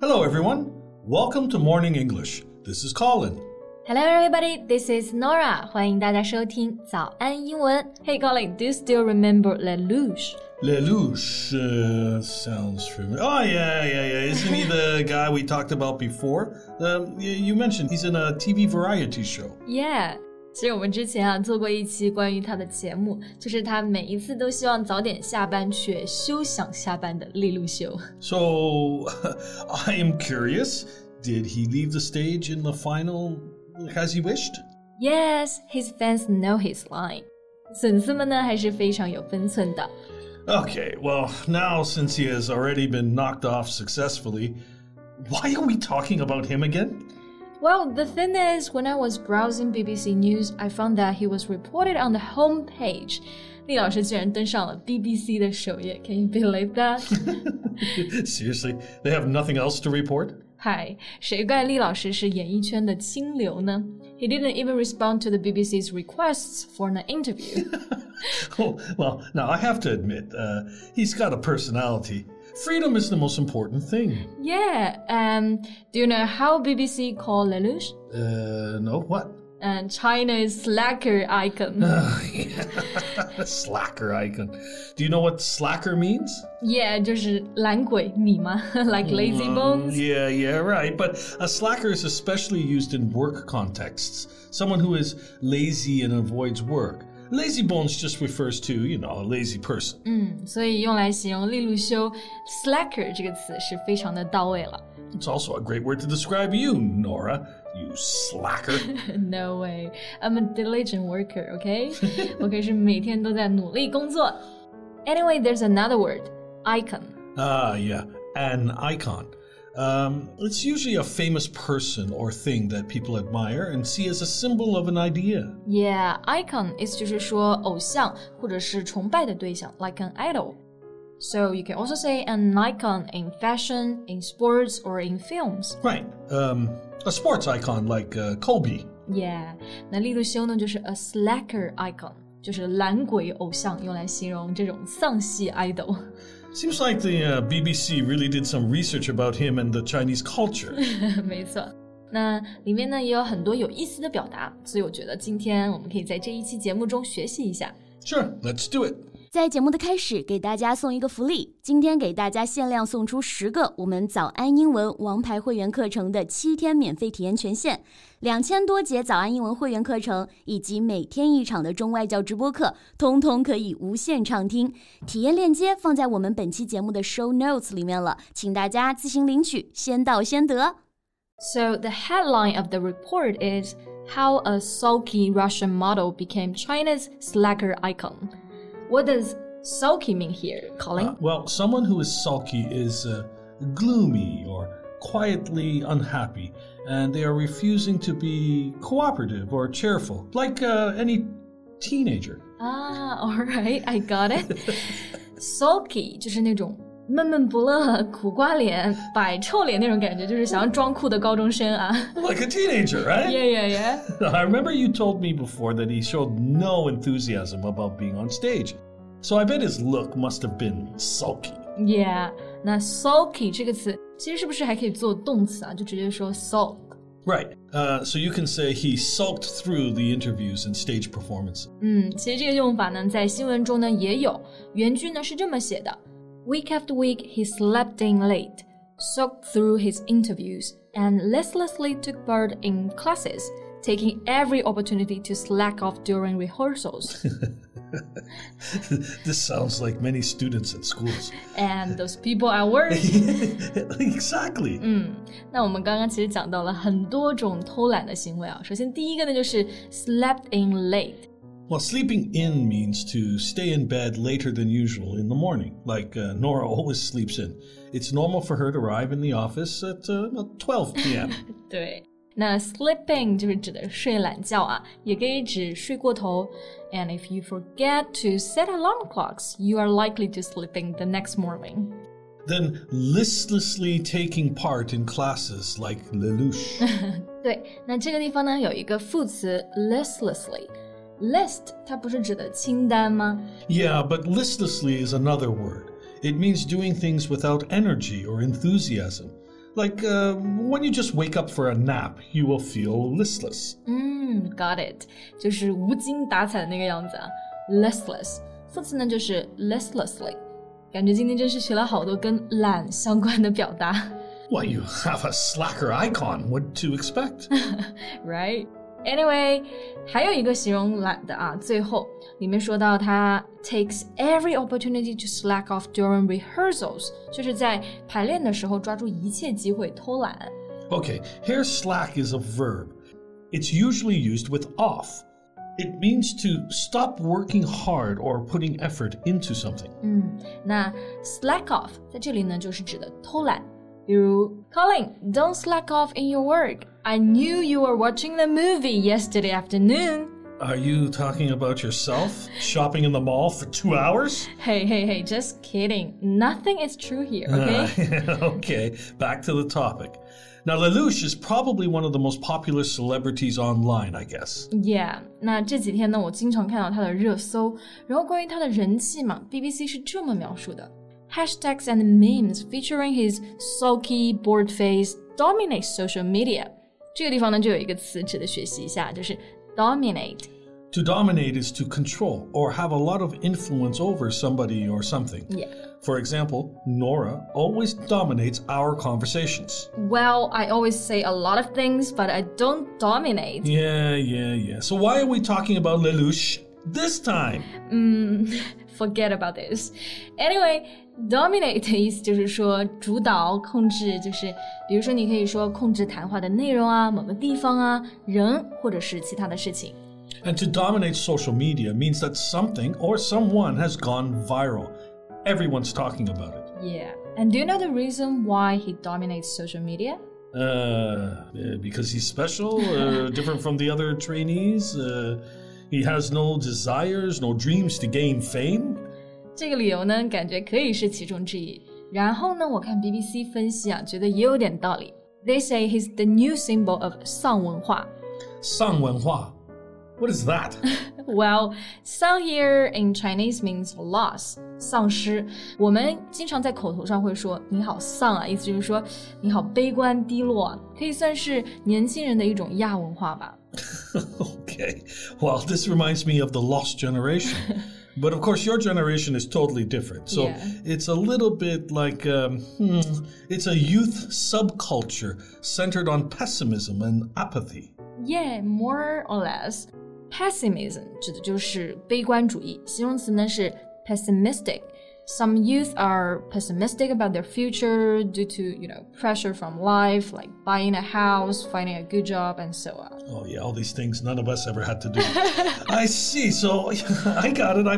Hello, everyone. Welcome to Morning English. This is Colin. Hello, everybody. This is Nora. 欢迎大家收听早安英文。Hey, Colin, do you still remember Lelouch? Lelouch sounds familiar. Oh, yeah. Isn't he the guy we talked about before? You mentioned he's in a TV variety show. Yeah.其实我们之前做过一期关于他的节目，就是他每一次都希望早点下班却休想下班的利路修。 So, I am curious, did he leave the stage in the final as he wished? Yes, his fans know his line. 粉丝们呢还是非常有分寸的。 Okay, well, now since he has already been knocked off successfully, why are we talking about him again?Well, the thing is, when I was browsing BBC News, I found that he was reported on the homepage. 厉老师居然登上了 BBC 的首页 Can you believe that? Seriously? They have nothing else to report? 嗨，谁怪厉老师是演艺圈的清流呢 He didn't even respond to the BBC's requests for an interview. Oh, well, now I have to admit, he's got a personality.Freedom is the most important thing. Yeah. Do you know how BBC call Lelouch? No, what? China's slacker icon. Slacker icon. Do you know what slacker means? Yeah, 就是懒鬼你吗 Like lazy bones? Yeah, right. But a slacker is especially used in work contexts. Someone who is lazy and avoids work.Lazy bones just refers to, a lazy person. 所以用来形容利路修 slacker 这个词是非常的到位了。 It's also a great word to describe you, Nora. You slacker. No way. I'm a diligent worker, okay? 我可是每天都在努力工作。Anyway, there's another word, icon. Yeah, an icon.It's usually a famous person or thing that people admire and see as a symbol of an idea. Yeah, icon 意思就是說偶像或者是崇拜的對象 like an idol. So you can also say an icon in fashion, in sports, or in films. Right. A sports icon like Kobe. Yeah. 那利路修呢就是 a slacker icon, 就是懒鬼偶像，用來形容這種喪系 idol.Seems like the BBC really did some research about him and the Chinese culture. 没错，那里面呢也有很多有意思的表达，所以我觉得今天我们可以在这一期节目中学习一下。 Sure, let's do it. 在节目的开始，给大家送一个福利，今天给大家限量送出10个我们早安英文王牌会员课程的7天免费体验权限，2000多节早安英文会员课程以及每天1场的中外教直播课，通通可以无限畅听。体验链接放在我们本期节目的 show notes 里面了，请大家自行领取，先到先得。 So the headline of the report is How a sulky Russian model became China's slacker icon. What does sulky mean here, Colin? Well, someone who is sulky is gloomy or quietly unhappy, and they are refusing to be cooperative or cheerful, like any teenager. All right, I got it. Sulky 就是那种闷闷不乐、苦瓜脸、摆臭脸那种感觉，就是想要装酷的高中生啊。 Like a teenager, right? Yeah. I remember you told me before that he showed no enthusiasm about being on stage. So I bet his look must have been sulky. Yeah, 那 sulky 这个词其实是不是还可以做动词啊？就直接说 sulk. Right. So you can say he sulked through the interviews and stage performances. 其实这个用法呢，在新闻中呢也有。原句呢是这么写的。Week after week, he slept in late, sulked through his interviews, and listlessly took part in classes, taking every opportunity to slack off during rehearsals. This sounds like many students at schools. And those people at work. Exactly. 那我们刚刚其实讲到了很多种偷懒的行为啊。首先第一个呢就是 slept in late.Well, sleeping in means to stay in bed later than usual in the morning, like Nora always sleeps in. It's normal for her to arrive in the office at 12 p.m. 对，那 sleeping 就是指的睡懒觉啊，也可以指睡过头。And if you forget to set alarm clocks, you are likely to sleep in the next morning. Then listlessly taking part in classes like Lelouch. 对，那这个地方呢有一个副词 listlessly。List 它不是指的清单吗？ Yeah, but listlessly is another word. It means doing things without energy or enthusiasm. Like when you just wake up for a nap, you will feel listless. Got it. 就是无精打采的那个样子啊 Listless 副词呢就是 listlessly 感觉今天真是学了好多跟懒相关的表达 Well, you have a slacker icon. What to expect? Right? Anyway, 还有一个形容懒的啊，最后里面说到他 takes every opportunity to slack off during rehearsals 就是在排练的时候抓住一切机会偷懒 Okay, here slack is a verb. It's usually used with off. It means to stop working hard or putting effort into something. 那 slack off 在这里呢就是指的偷懒比如 Colin, don't slack off in your work. I knew you were watching the movie yesterday afternoon. Are you talking about yourself? Shopping in the mall for 2 hours? Hey, just kidding. Nothing is true here, okay? Okay, back to the topic. Now, Lelouch is probably one of the most popular celebrities online, I guess. Yeah, 那这几天呢，我经常看到他的热搜，然后关于他的人气嘛 ，BBC 是这么描述的。Hashtags and memes featuring his sulky, bored face dominate social media. 这个地方呢，就有一个词值得学习一下，就是 dominate. To dominate is to control or have a lot of influence over somebody or something. Yeah. For example, Nora always dominates our conversations. Well, I always say a lot of things, but I don't dominate. Yeah. So why are we talking about Lelouch this time? Forget about this. Anyway, dominate 的意思就是说主导、控制，就是比如说你可以说控制谈话的内容啊、某个地方啊、人或者是其他的事情。 And to dominate social media means that something or someone has gone viral. Everyone's talking about it. Yeah. And do you know the reason why he dominates social media? Because he's special, different from the other trainees. He has no desires, no dreams to gain fame. 这个理由呢，感觉可以是其中之一。然后呢，我看 BBC 分析啊，觉得也有点道理。They say he's the new symbol of 丧文化。 丧文化 What is that? Well, 丧 here in Chinese means loss, 丧失。我们经常在口头上会说你好丧啊，意思就是说你好悲观低落啊，可以算是年轻人的一种亚文化吧。 Okay. Well, this reminds me of the lost generation. But of course, your generation is totally different. So Yeah. It's a little bit like, it's a youth subculture centered on pessimism and apathy. Yeah, more or less. Pessimism 指的就是悲观主义，形容词呢是 pessimistic. Some youth are pessimistic about their future due to, pressure from life, like buying a house, finding a good job, and so on. Oh, yeah, all these things none of us ever had to do. I see. So I got it. I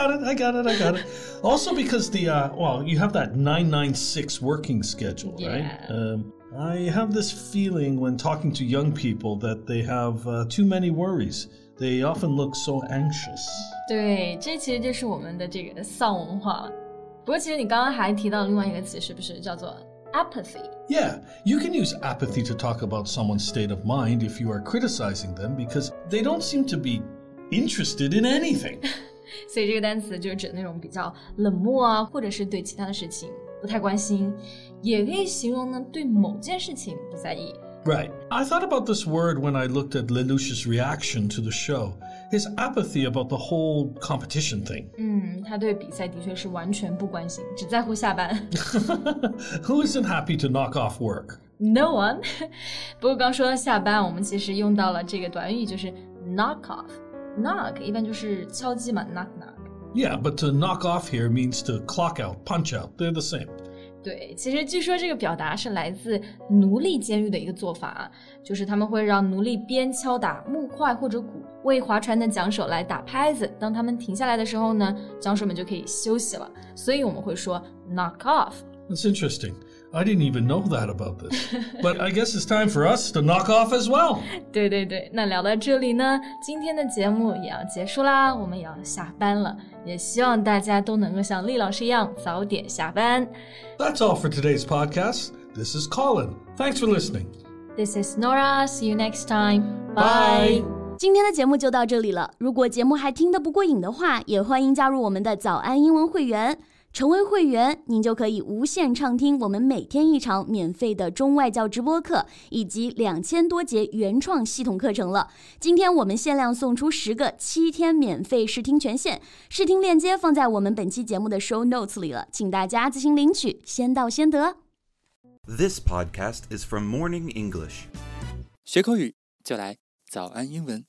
got it. Also because you have that 996 working schedule, right? Yeah. I have this feeling when talking to young people that they have too many worries. They often look so anxious. 对，这其实就是我们的这个丧文化了。不过其实你刚刚还提到另外一个词，是不是叫做 apathy? Yeah, you can use apathy to talk about someone's state of mind if you are criticizing them because they don't seem to be interested in anything. 所以这个单词就是指那种比较冷漠啊，或者是对其他的事情不太关心，也可以形容呢对某件事情不在意。 Right. I thought about this word when I looked at Lelouch's reaction to the show. His apathy about the whole competition thing. 他对比赛的确是完全不关心，只在乎下班。 Who isn't happy to knock off work? No one. 不过刚说到下班，我们其实用到了这个短语，就是 knock off. Knock 一般就是敲击嘛 ，knock knock. Yeah, but to knock off here means to clock out, punch out. They're the same. 对，其实据说这个表达是来自奴隶监狱的一个做法啊，就是他们会让奴隶边敲打木块或者鼓，为划船的桨手来打拍子。当他们停下来的时候呢，桨手们就可以休息了。所以我们会说 knock off. That's interesting. I didn't even know that about this. But I guess it's time for us to knock off as well. 对，那聊到这里呢，今天的节目也要结束啦，我们也要下班了，也希望大家都能够像厉老师一样早点下班。 That's all for today's podcast. This is Colin. Thanks for listening. This is Nora. See you next time. Bye. 今天的节目就到这里了。如果节目还听得不过瘾的话，也欢迎加入我们的早安英文会员。 成为会员，您就可以无限畅听我们每天一场免费的中外教直播课，以及2000多节原创系统课程了。今天我们限量送出10个7天免费试听权限，试听链接放在我们本期节目的 show notes 里了，请大家自行领取，先到先得。 This podcast is from Morning English. 学口语就来早安英文。